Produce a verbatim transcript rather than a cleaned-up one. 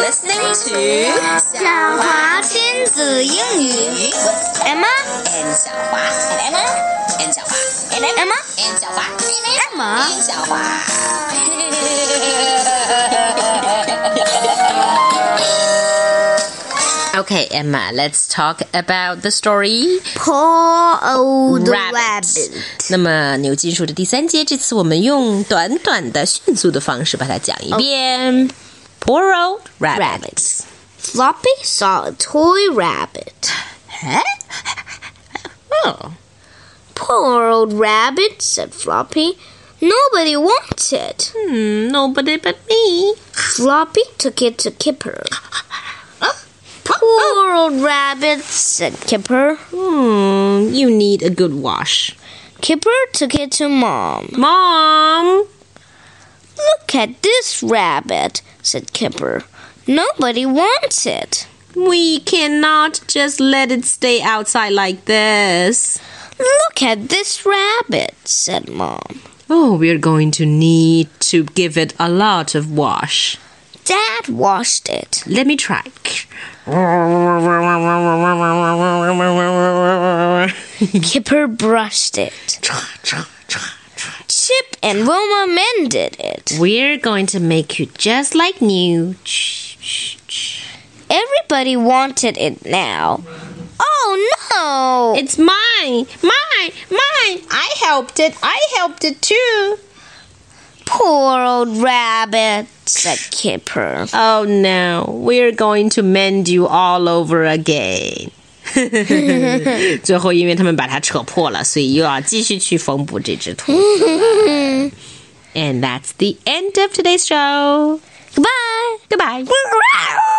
listening to 小华亲子英语 with Emma and 小华 and Emma and 小华 and Emma and 小华 Emma and 小华。Okay, Emma, let's talk about the story. Poor old Rabbit. rabbit. 那么牛津树的第三节，这次我们用短短的、迅速的方式把它讲一遍。Poor old rabbit. Rabbit. Floppy saw a toy rabbit. Oh. Poor old rabbit, said Floppy. Nobody wants it. Hmm, nobody but me. Floppy took it to Kipper. Poor old rabbit, said Kipper. Hmm, you need a good wash. Kipper took it to Mom. Mom! Look at this rabbit, said Kipper. Nobody wants it. We cannot just let it stay outside like this. Look at this rabbit, said Mom. Oh, we're going to need to give it a lot of wash. Dad washed it. Let me try. Kipper brushed it. Chip and Wilma mended it. We're going to make you just like new. Everybody wanted it now. Oh no! It's mine! Mine! Mine! I helped it! I helped it too! Poor old rabbit, said Kipper. Oh no, we're going to mend you all over again. 最后因为他们把它扯破了，所以又要继续去缝补这只兔子了。And that's the end of today's show. Goodbye. Goodbye.